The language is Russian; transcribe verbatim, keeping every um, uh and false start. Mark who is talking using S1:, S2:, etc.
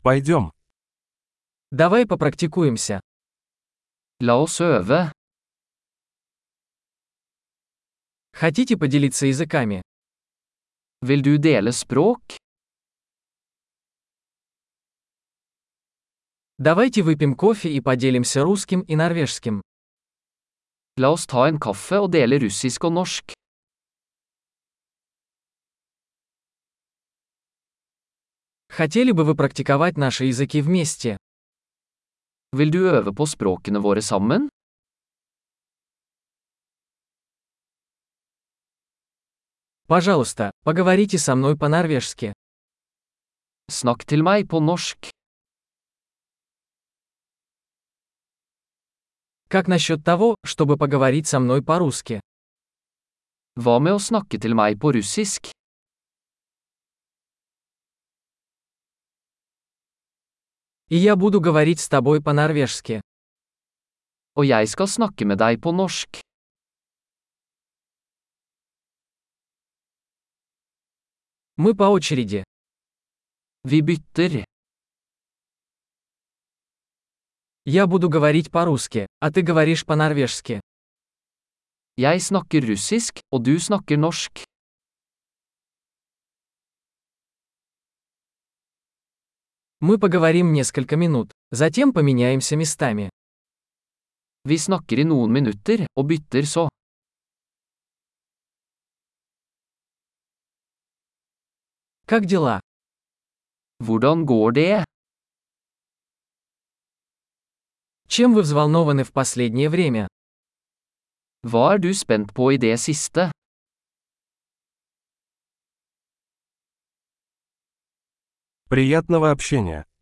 S1: Пойдем.
S2: Давай попрактикуемся.
S3: La oss øve.
S2: Хотите поделиться языками?
S3: Vil du dele språk?
S2: Давайте выпьем кофе и поделимся русским и норвежским.
S3: La oss ta en kaffe og dele russisk og norsk.
S2: Хотели бы вы практиковать наши языки вместе?
S3: Vil du øve på språkene våre sammen?
S2: Пожалуйста, поговорите со мной по-норвежски.
S3: Snakk til meg på norsk.
S2: Как насчет того, чтобы поговорить со мной по-русски?
S3: Hva med å snakke til meg på russisk?
S2: И я буду говорить с тобой по-норвежски.
S3: Og jeg skal snakke med deg på norsk.
S2: Мы по очереди.
S3: Vi bytter.
S2: Я буду говорить по-русски, а ты говоришь по-норвежски.
S3: Jeg snakker russisk, og du snakker norsk.
S2: Мы поговорим несколько минут, затем поменяемся местами.
S3: Vi snakker i noen minutter, og bytter så.
S2: Как дела?
S3: Hvordan går det?
S2: Чем вы взволнованы в последнее время?
S3: Hva er du spent på i det siste?
S1: Приятного общения.